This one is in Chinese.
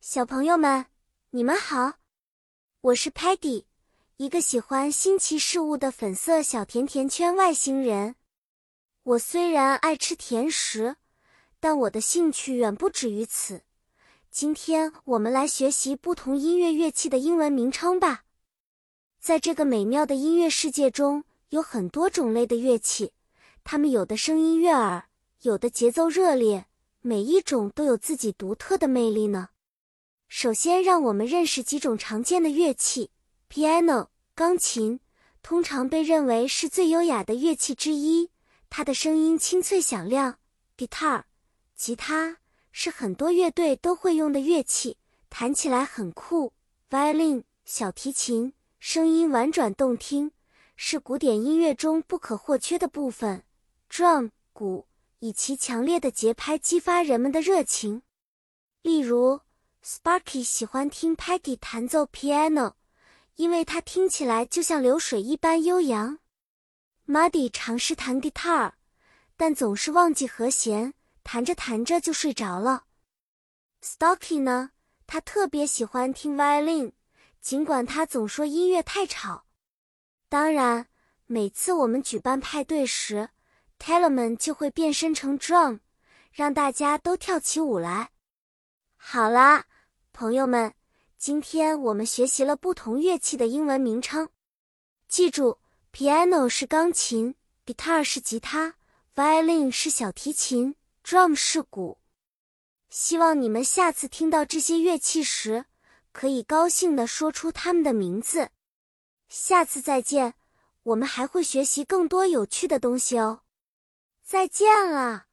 小朋友们，你们好，我是 Patty， 一个喜欢新奇事物的粉色小甜甜圈外星人。我虽然爱吃甜食，但我的兴趣远不止于此。今天我们来学习不同音乐乐器的英文名称吧。在这个美妙的音乐世界中，有很多种类的乐器，它们有的声音悦耳，有的节奏热烈，每一种都有自己独特的魅力呢。首先让我们认识几种常见的乐器。Piano， 钢琴，通常被认为是最优雅的乐器之一，它的声音清脆响亮。Guitar， 吉他，是很多乐队都会用的乐器，弹起来很酷。Violin， 小提琴，声音婉转动听，是古典音乐中不可或缺的部分。Drum， 鼓，以其强烈的节拍激发人们的热情。例如Sparky 喜欢听 Peggy 弹奏 piano， 因为它听起来就像流水一般悠扬。Muddy 尝试弹 guitar， 但总是忘记和弦，弹着弹着就睡着了。Stocky 呢，他特别喜欢听 violin， 尽管他总说音乐太吵。当然，每次我们举办派对时 Telemann 就会变身成 drum， 让大家都跳起舞来。好啦，朋友们，今天我们学习了不同乐器的英文名称。记住 ，piano 是钢琴 ，guitar 是吉他 ，violin 是小提琴 ，drum 是鼓。希望你们下次听到这些乐器时，可以高兴地说出它们的名字。下次再见，我们还会学习更多有趣的东西哦。再见了。